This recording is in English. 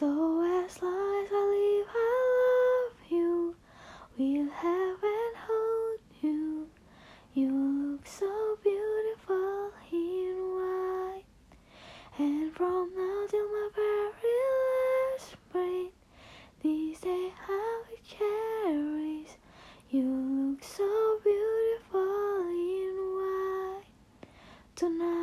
So as long as I live, I love you. We'll have and hold you. You look so beautiful in white. And from now till my very last breath, this day I will cherish. You look so beautiful in white tonight.